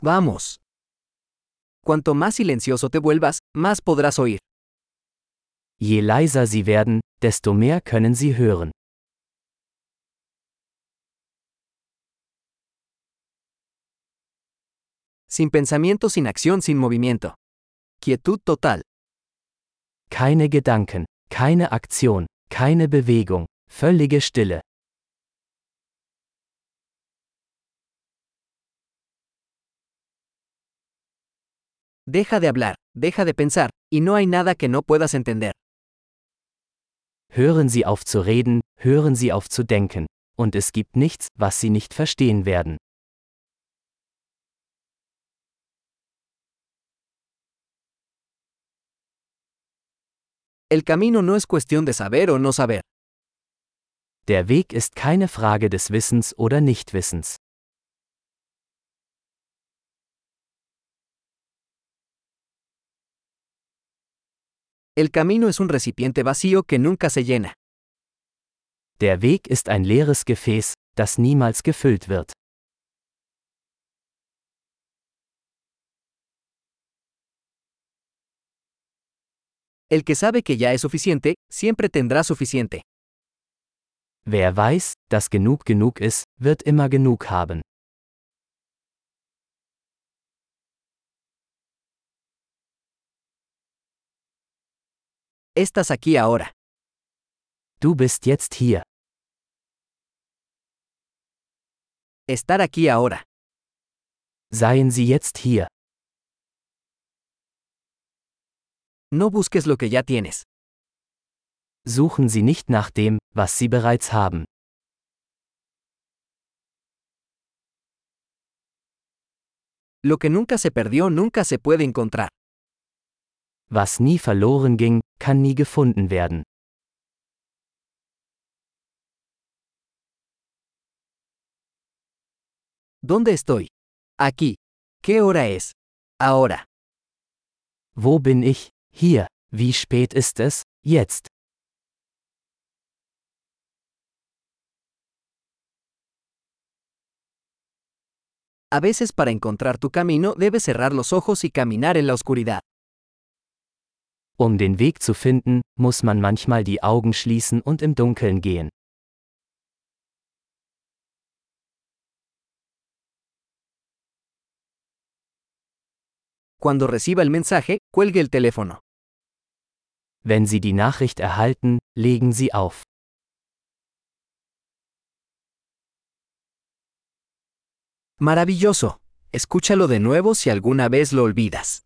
Vamos. Cuanto más silencioso te vuelvas, más podrás oír. Je leiser Sie werden, desto mehr können Sie hören. Sin pensamiento, sin acción, sin movimiento. Quietud total. Keine Gedanken, keine Aktion, keine Bewegung, völlige Stille. Deja de hablar, deja de pensar, y no hay nada que no puedas entender. Hören Sie auf zu reden, hören Sie auf zu denken. Und es gibt nichts, was Sie nicht verstehen werden. El camino no es cuestión de saber o no saber. Der Weg ist keine Frage des Wissens oder Nichtwissens. El camino es un recipiente vacío que nunca se llena. Der Weg ist ein leeres Gefäß, das niemals gefüllt wird. El que sabe que ya es suficiente, siempre tendrá suficiente. Wer weiß, dass genug genug ist, wird immer genug haben. Estás aquí ahora. Du bist jetzt hier. Estar aquí ahora. Seien Sie jetzt hier. No busques lo que ya tienes. Suchen Sie nicht nach dem, was Sie bereits haben. Lo que nunca se perdió nunca se puede encontrar. Was nie verloren ging, kann nie gefunden werden. ¿Dónde estoy? Aquí. ¿Qué hora es? Ahora. Wo bin ich? Hier. Wie spät ist es? Jetzt. A veces para encontrar tu camino debes cerrar los ojos y caminar en la oscuridad. Um den Weg zu finden, muss man manchmal die Augen schließen und im Dunkeln gehen. Cuando reciba el mensaje, cuelgue el teléfono. Wenn Sie die Nachricht erhalten, legen Sie auf. Maravilloso. Escúchalo de nuevo si alguna vez lo olvidas.